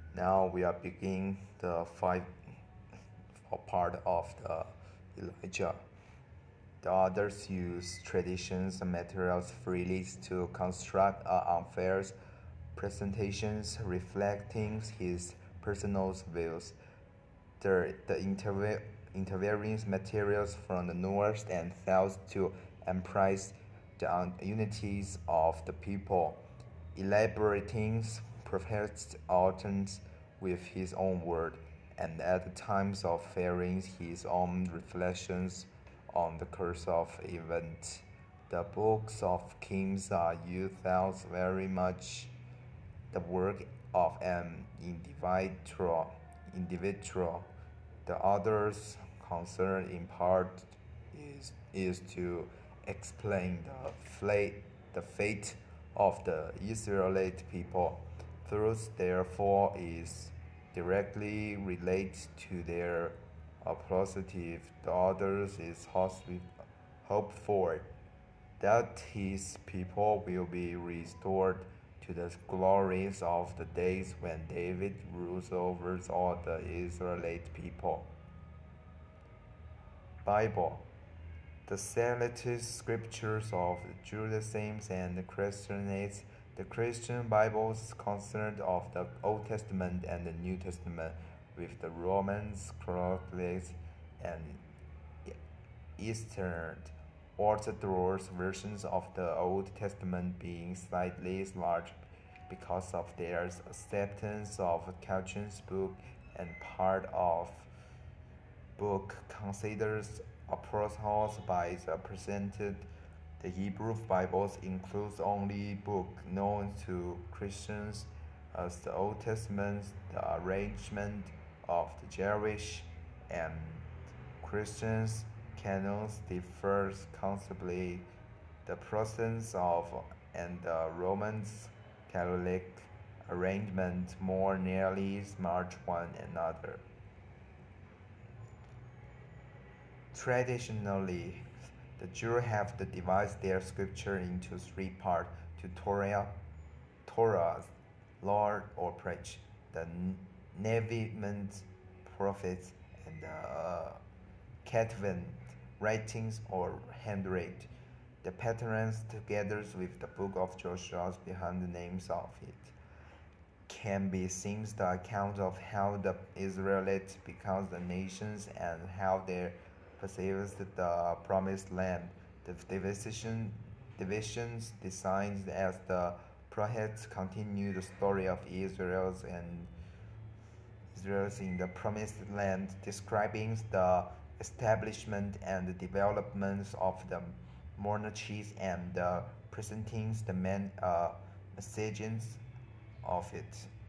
Now we are beginning the five part of the Elijah. The others use traditions and materials freely to construct unfair presentations reflecting his personal views. The intervening materials from the north and south to emphasize the unities of the people, elaborating prophet's utterance with his own word, and at the times of sharing his own reflections on the course of events. The books of Kings are used as very much the work of an individual. The other's concern in part is to explain the fate of the Israelite people. Truth, therefore, is directly related to their positive. The others is hope for that his people will be restored to the glories of the days when David rules over all the Israelite people. Bible. The selected scriptures of Judaism and Christianity. The Christian Bible is concerned of the Old Testament and the New Testament, with the Romans, Catholics, and Eastern Orthodox versions of the Old Testament being slightly larger because of their acceptance of Calvin's book, and part of book considers apostles by the presented. The Hebrew Bible includes only book known to Christians as the Old Testament. The arrangement of the Jewish and Christians canons differs considerably. The Protestants of and the Roman Catholic arrangement more nearly match one another. Traditionally, the Jews have divided their scripture into three parts: to Torah, law or preach, the Nevi'im, prophets, and the Ketuvim, writings or handwritten. The patterns, together with the book of Joshua behind the names of it, can be seen the account of how the Israelites become the nations and how they possessed the promised land. The divisions designed as the prophets continue the story of Israel's in the promised land, describing the establishment and the development of the monarchies and presenting the messages of it.